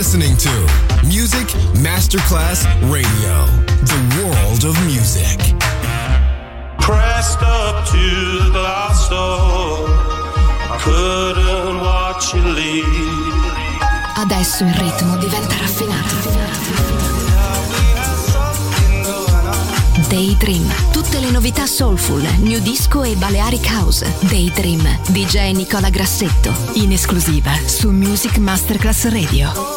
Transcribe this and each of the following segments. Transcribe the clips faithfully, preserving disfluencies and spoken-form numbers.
listening to Music Masterclass Radio, the world of music. Pressed up to the glass door, I couldn't watch you leave. Adesso il ritmo diventa raffinato. Daydream, tutte le novità soulful, new disco e Balearic House. Daydream, D J Nicola Grassetto, in esclusiva su Music Masterclass Radio.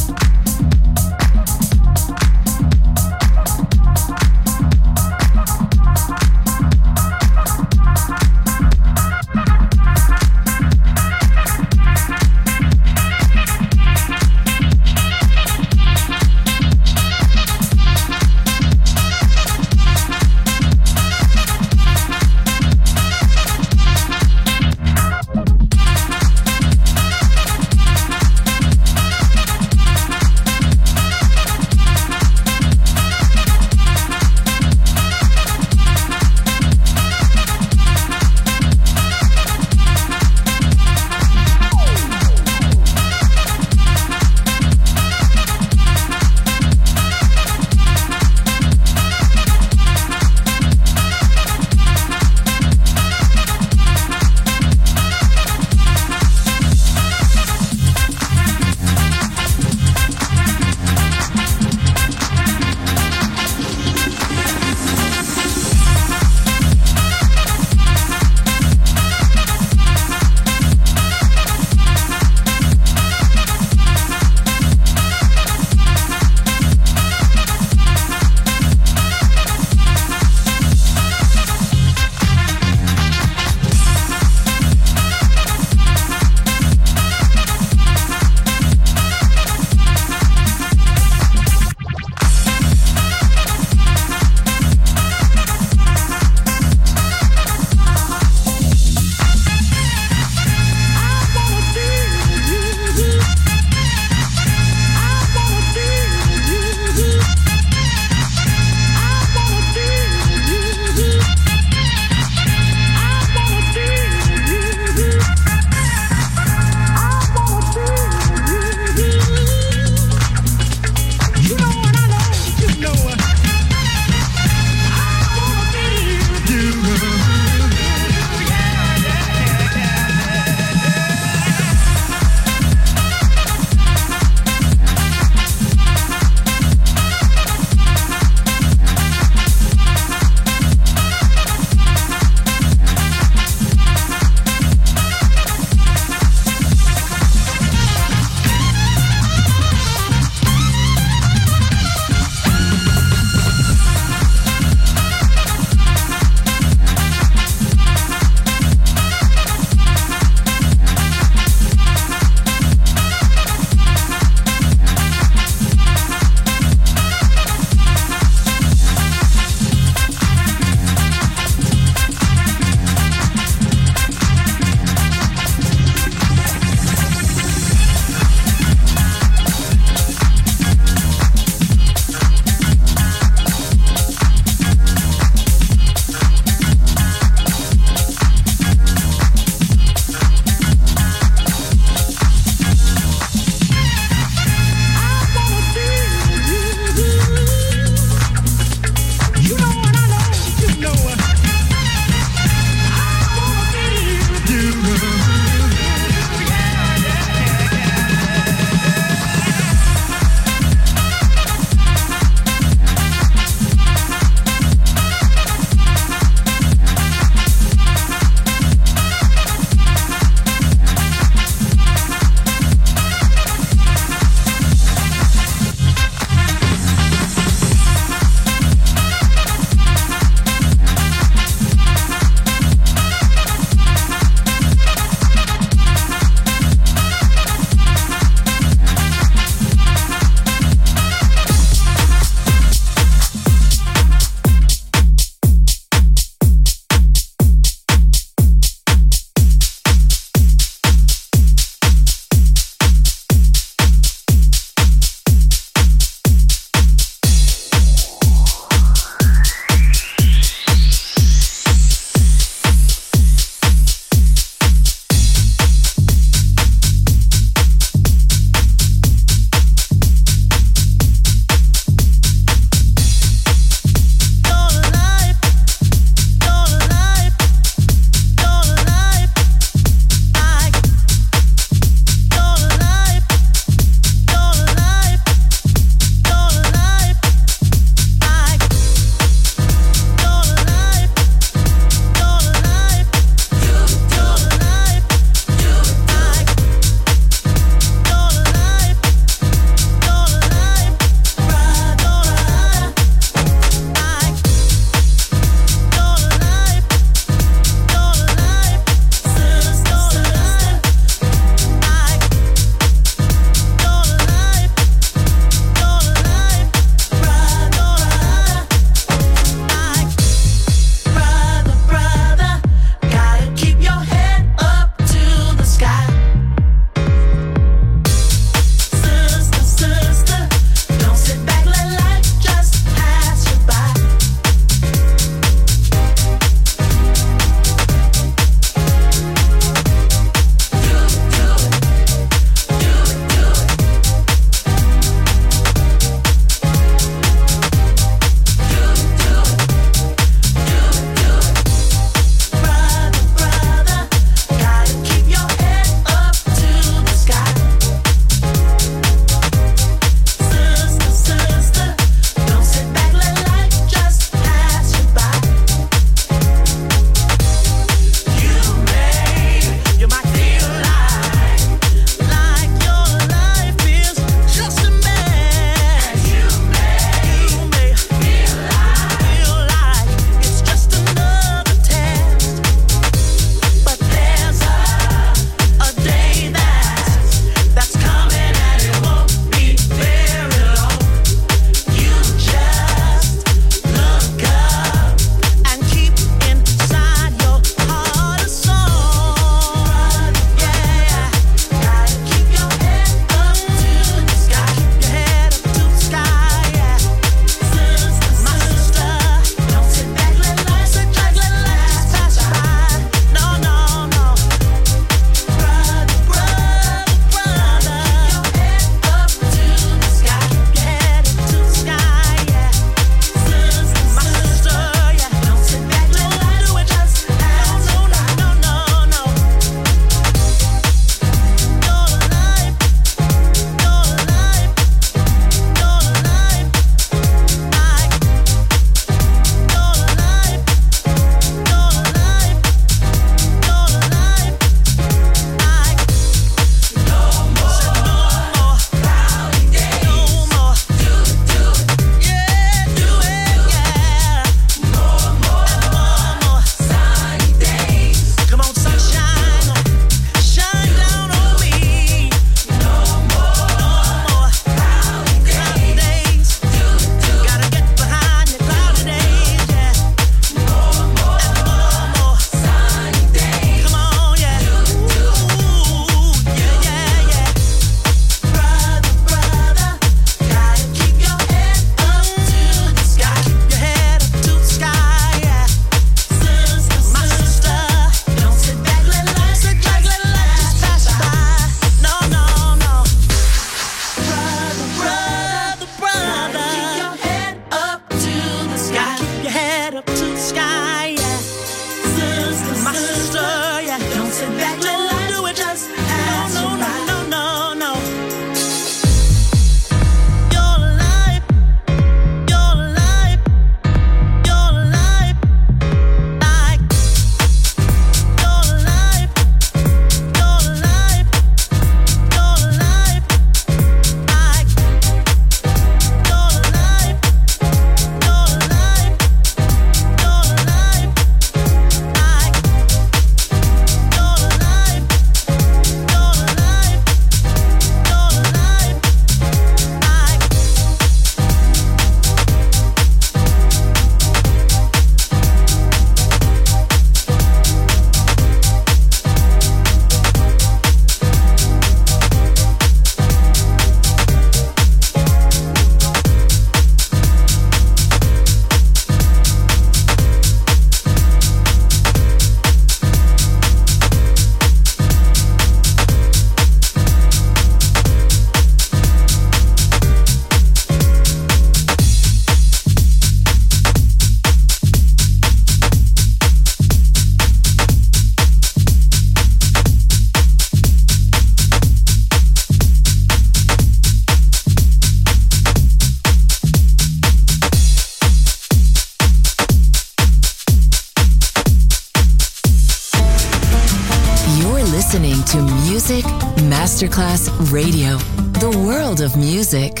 to Music Masterclass Radio, the world of music.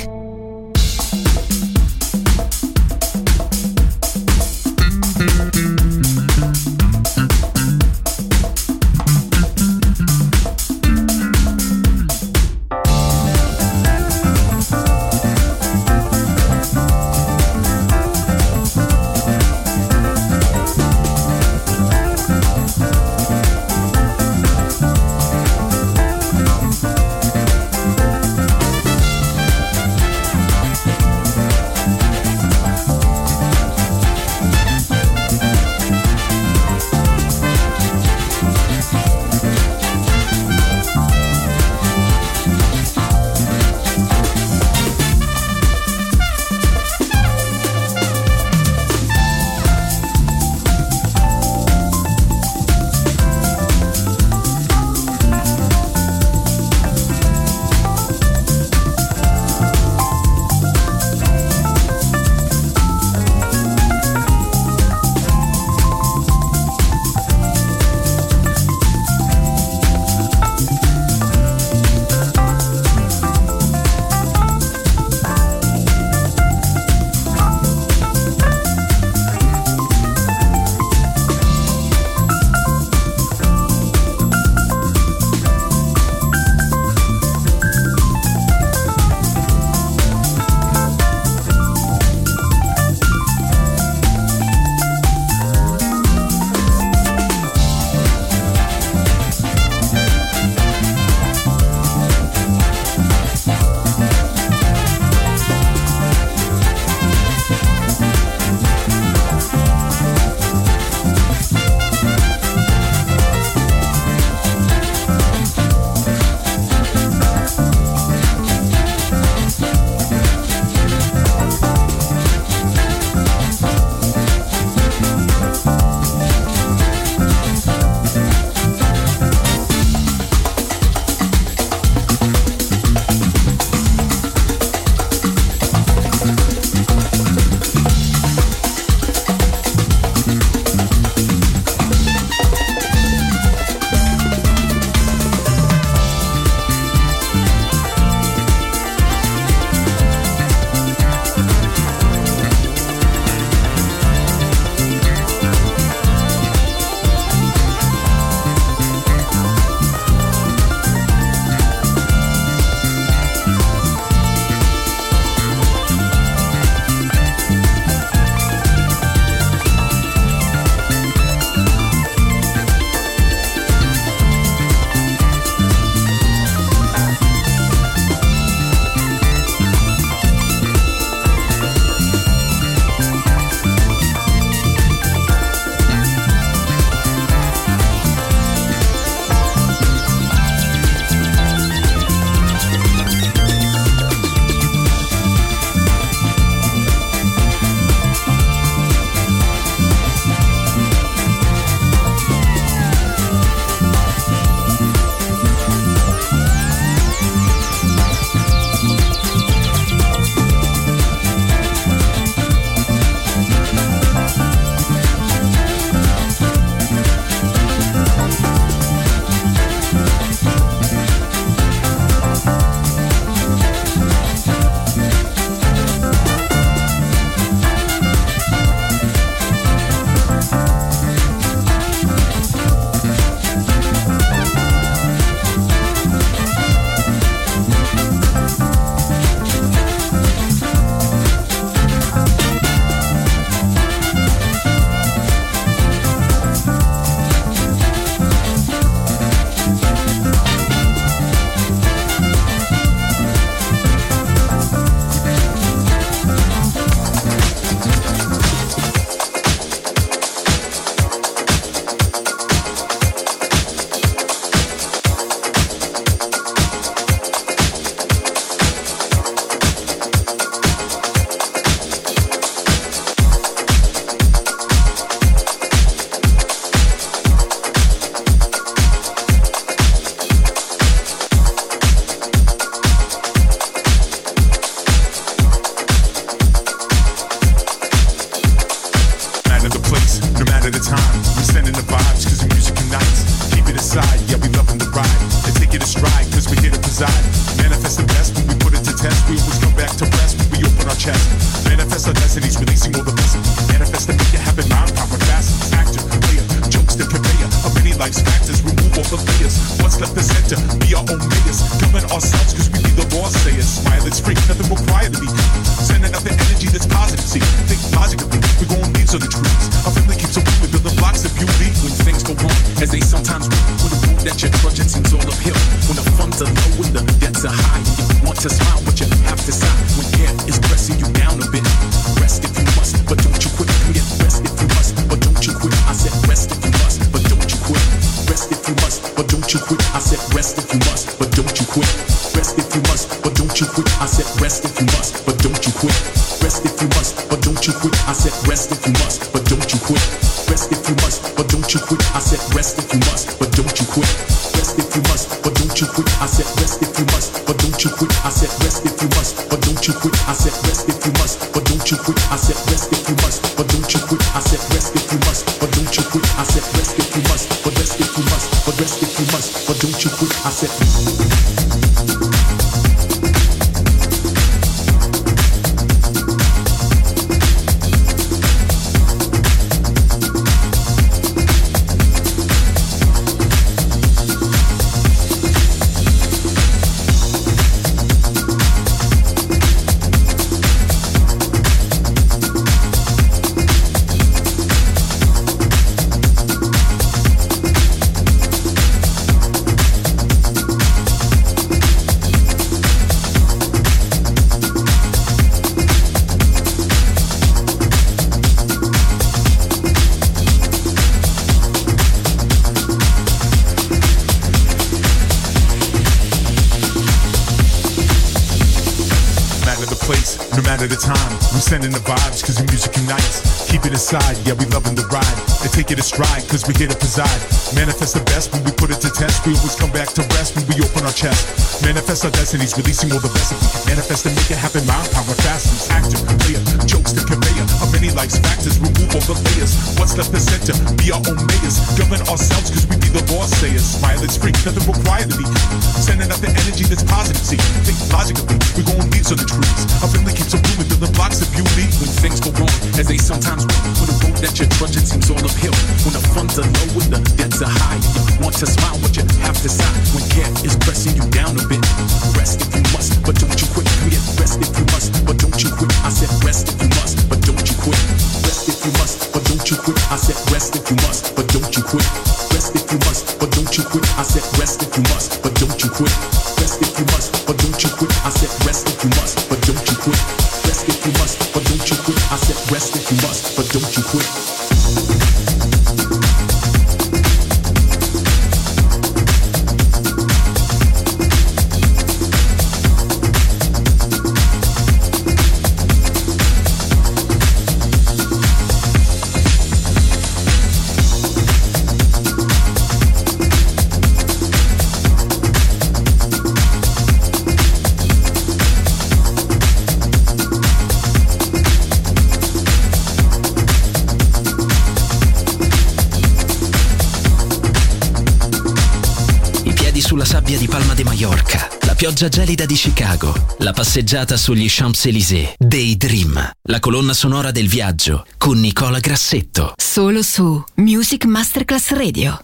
at a time. I'm sending the vibes cause the music unites. Keep it aside, yeah, we loving the ride. chest. Manifest our destinies, releasing all the best. Manifest and make it happen, mind, power, fast. Actor, player, jokes the conveyor of many life's factors. Remove all the layers. What's left the center? Be our own mayors. Govern ourselves, cause we be the law sayers. Smile, it's free, nothing required to be. Sending out the energy that's positive. See, think logically, we're going leaves on the trees. Our family keeps a room with building blocks of beauty. When things go wrong, as they sometimes will. When the road that you're trudging seems all uphill. When the funds are low and the debts are high. And you want to smile, but you have to sigh. When care is pressing you down a bit. Rest if you must, but don't you quit. Yeah, rest if you must, but don't you quit. I said rest if you must, but don't you quit. Rest if you must, but don't you quit. I said rest if you must, but don't you quit. Rest if you must, but don't you quit. I said rest if you must, but don't you quit. Rest if you must, but don't you quit. I said rest if you must, but don't you quit. Rest if you must, but don't you quit. I said rest if you must, but don't you quit. Rest if you must, but don't you quit. I said rest if you must, but don't you quit. I said rest if you must, but don't you quit. I said rest if you must, but don't you quit. I said rest if you must, but don't you quit. I said rest if you must, but don't you quit. I said rest if you must, but rest if you must, but rest if you must, but don't you quit. I said at a time, we sending the vibes cause the music unites. Keep it inside, yeah we loving the ride. And take it a stride cause we here to preside. Manifest the best when we put it to test. We always come back to rest when we open our chest. Manifest our destinies, releasing all the best. If we can manifest and make it happen, mind, power, fastness. Actor, player, jokes the conveyor of many life's factors. Remove all the layers. What's left the center? Be our own mayors. Govern ourselves cause we be the law sayers. Smile, it's free, nothing required to be. Sending out the energy that's positive. See, think logically, we're going leaves on the trees. Our family keeps a room with building blocks of beauty. When things go wrong, as they sometimes will. When the road that you're trudging seems all uphill. When the funds are low and the debts are high. You want to smile, but you have to sigh. When care is pressing you down a bit. Rest if you must, but don't you quit. Yeah, rest if you must, but don't you quit. I said rest if you must, but don't you quit. Rest if you must, but don't you quit. I said rest if you must, but don't you quit. Rest if you must, but don't you quit. I said rest if you must, but don't you quit. Rest if you must, but don't you quit. I said rest if you must, but don't you quit. Rest if you must, but don't you quit. I said rest if you must, but don't you quit. Sulla sabbia di Palma de Mallorca, la pioggia gelida di Chicago, la passeggiata sugli Champs-Élysées, Daydream, la colonna sonora del viaggio con Nicola Grassetto. Solo su Music Masterclass Radio.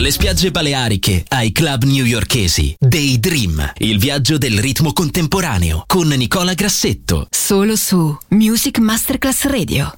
Dalle spiagge baleariche ai club newyorkesi. Daydream, il viaggio del ritmo contemporaneo con Nicola Grassetto. Solo su Music Masterclass Radio.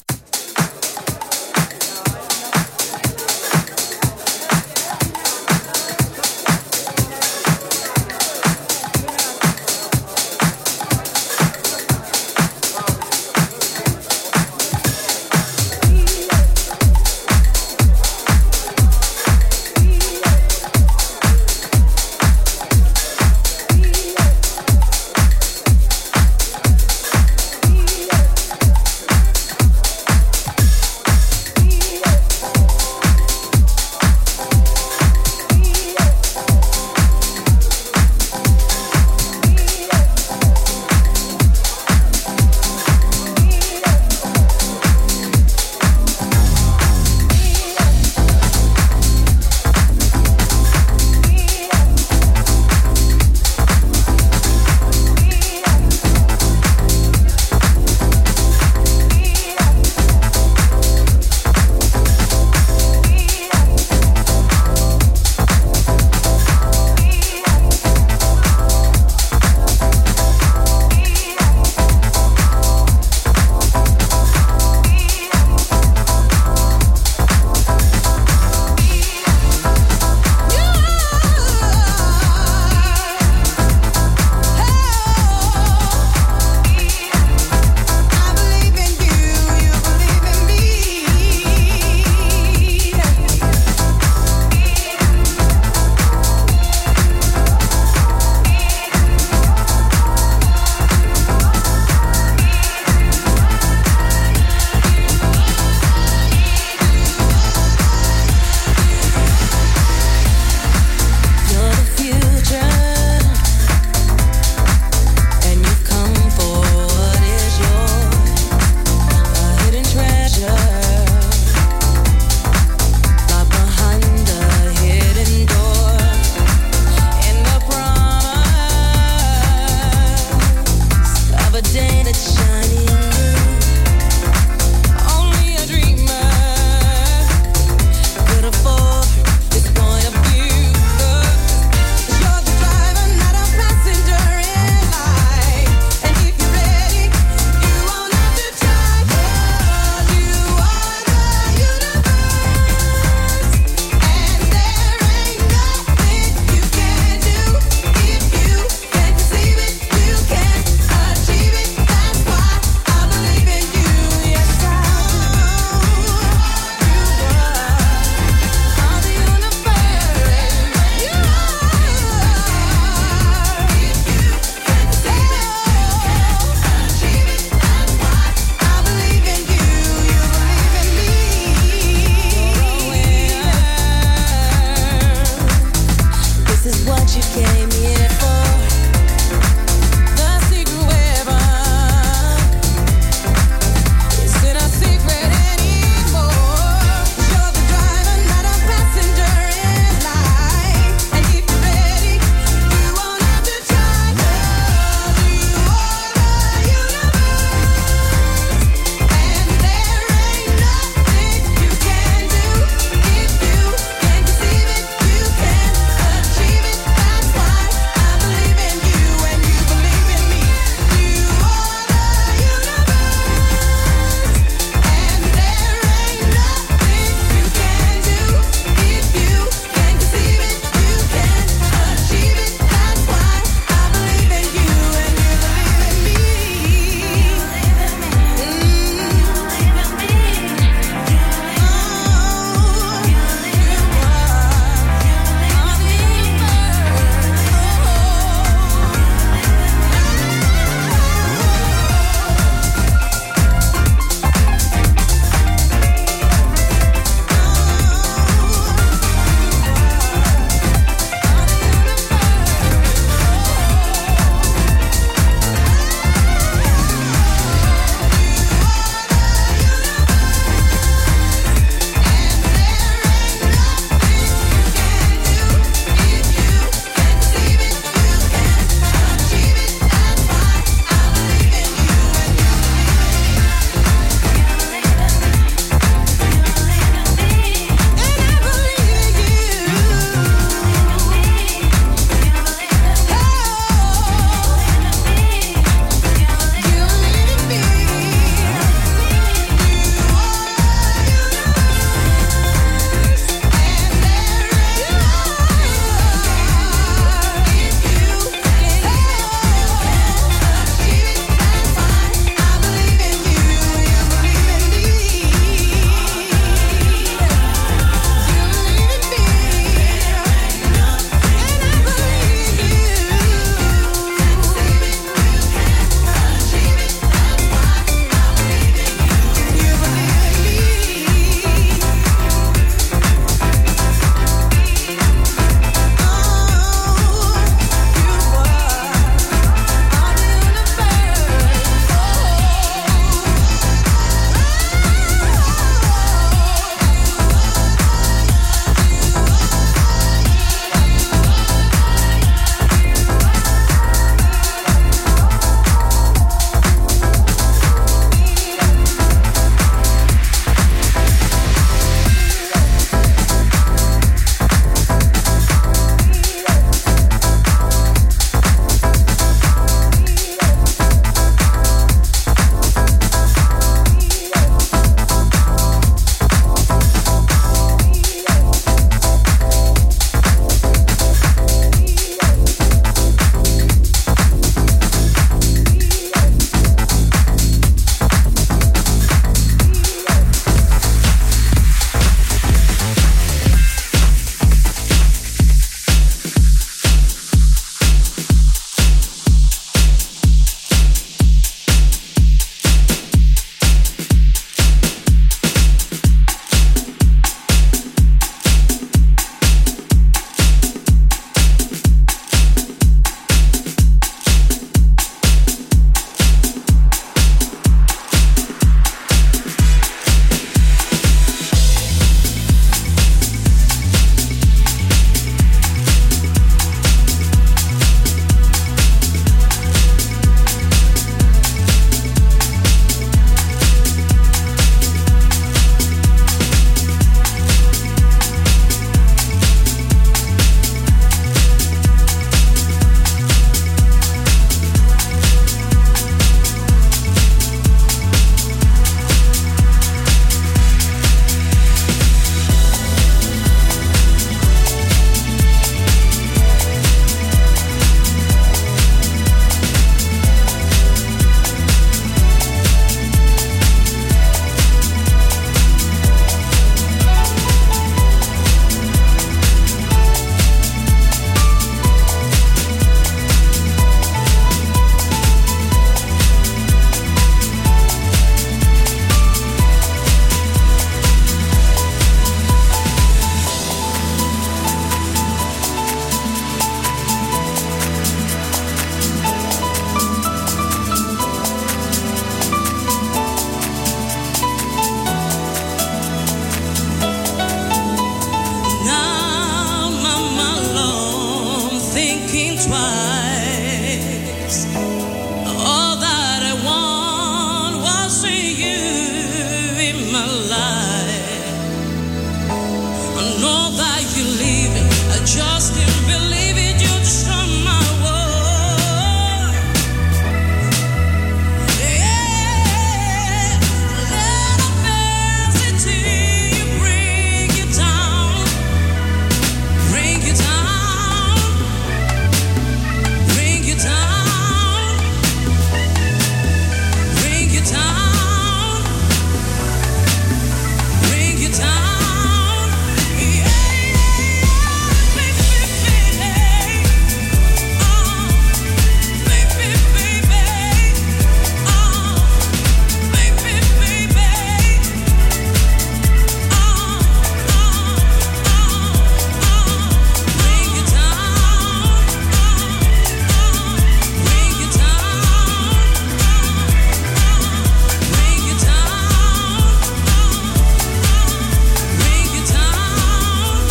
my life. I know that you're leaving, I just can't believe it, you destroy my world. Yeah, little fancy bring you down, bring you down, bring you down, bring you down, bring you down. Yeah, baby, baby, oh, baby, baby, oh, baby, baby, oh, oh, oh, oh, bring you down, bring you down, bring you down, bring you down.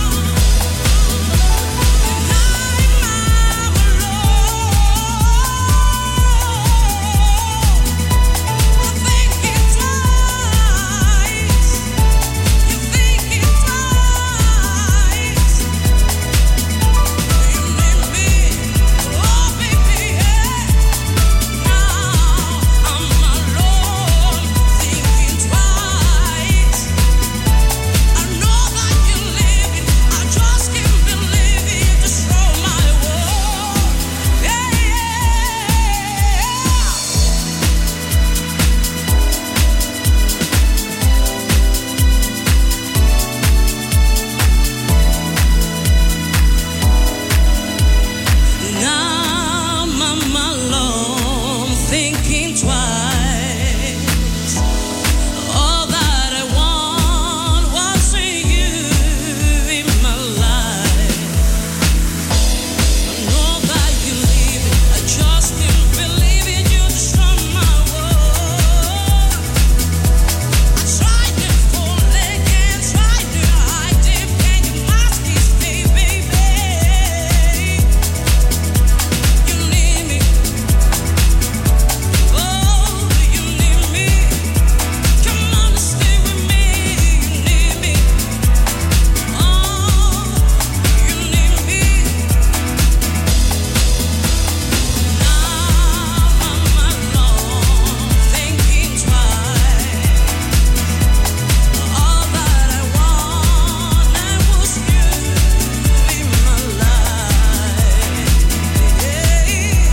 Now I'm alone, thinking twice. All that I want was you in my life. I know that you're leaving, I just can't believe it, you destroy my world. I tried to fall again, tried to hide it, can you mask this, baby? You need me, oh, you need me. Come on and stay with me. You need me, oh, you need me. Now I'm alone, thinking twice. All that I wanted was you in my life. Yeah.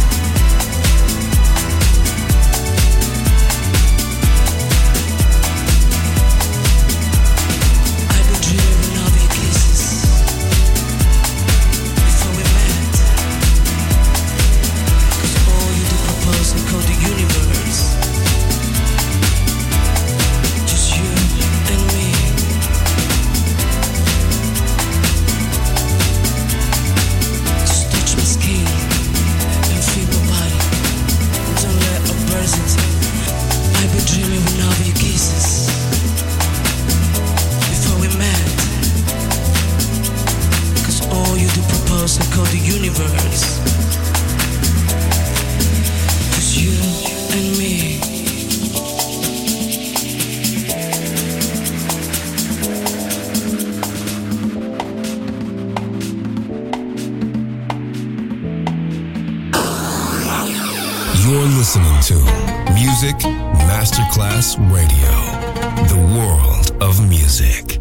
I've been dreaming of your kisses before we met. 'Cause all you do propose and call the universe. Just you and me. Just touch my skin and feel my body. Don't let a person take. I've been dreaming of your kisses before we met. 'Cause all you do propose and call the universe. Just you and me. You're listening to Music Masterclass Radio, the world of music.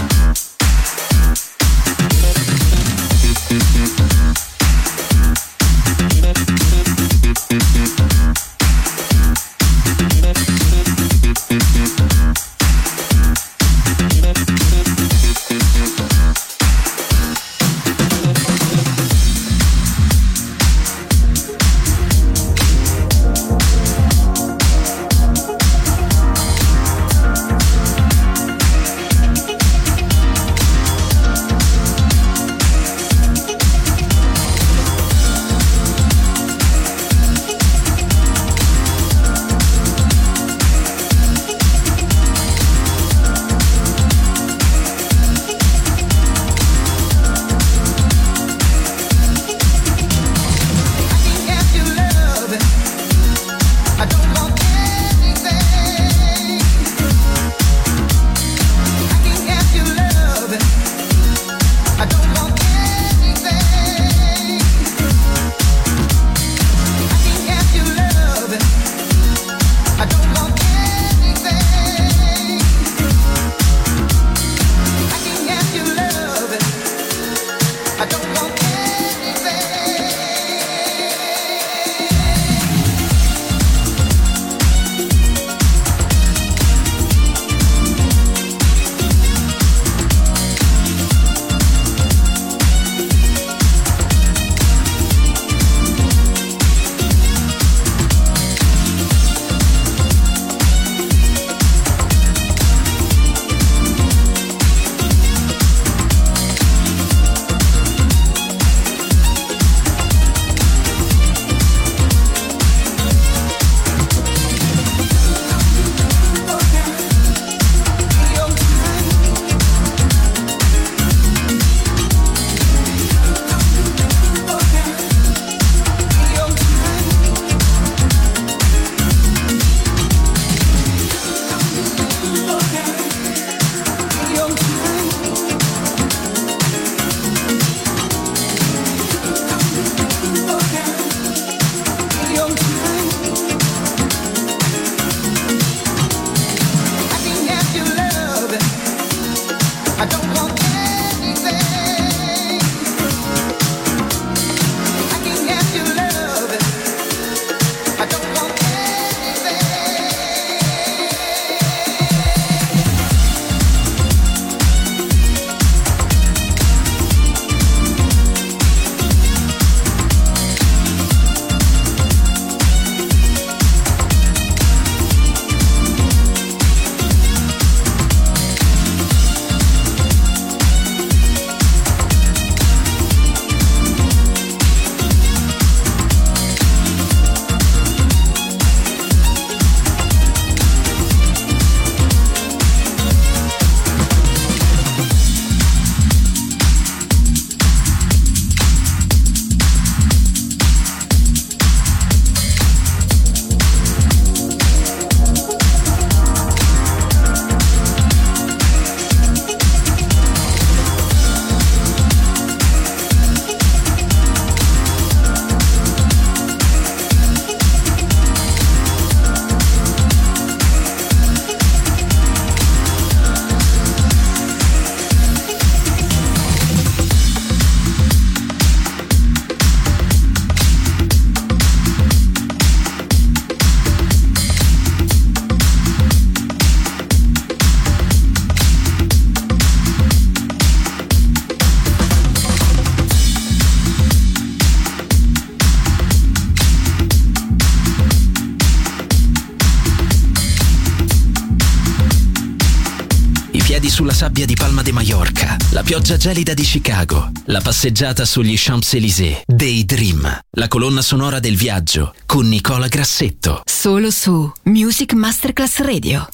sulla sabbia di Palma de Mallorca, la pioggia gelida di Chicago, la passeggiata sugli Champs-Élysées, Daydream, la colonna sonora del viaggio con Nicola Grassetto. Solo su Music Masterclass Radio.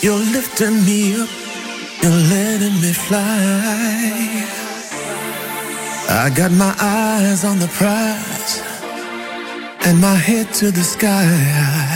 You're lifting me up, you're letting me fly. I got my eyes on the prize and my head to the sky.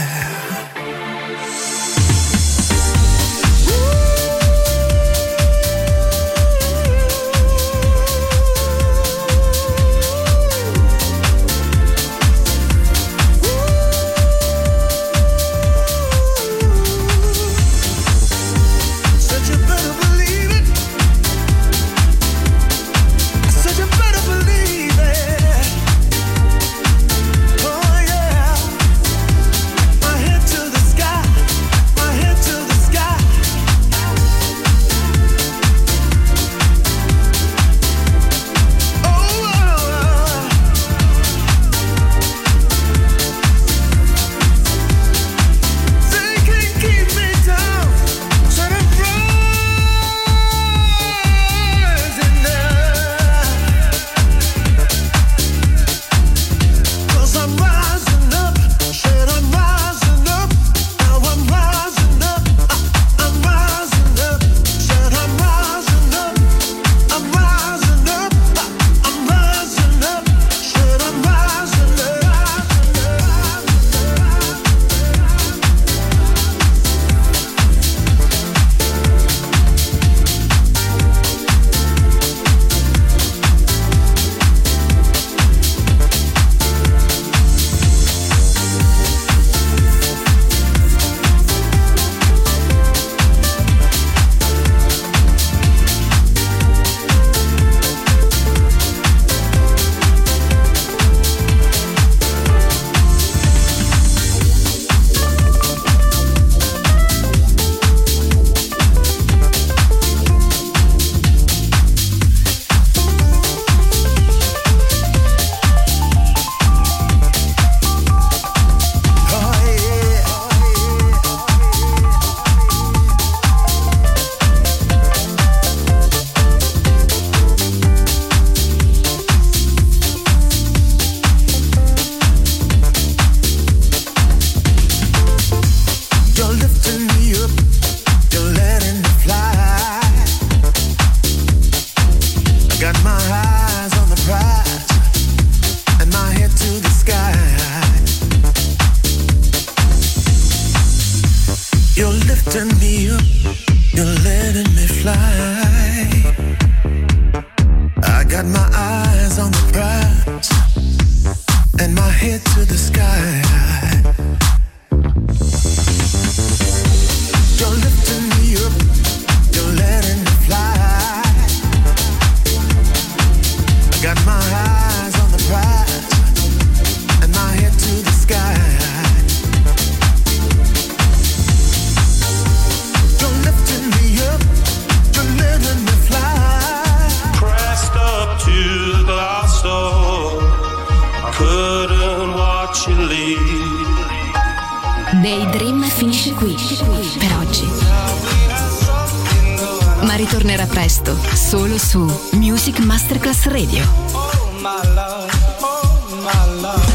Daydream finisce qui per oggi, ma ritornerà presto solo su Music Masterclass Radio.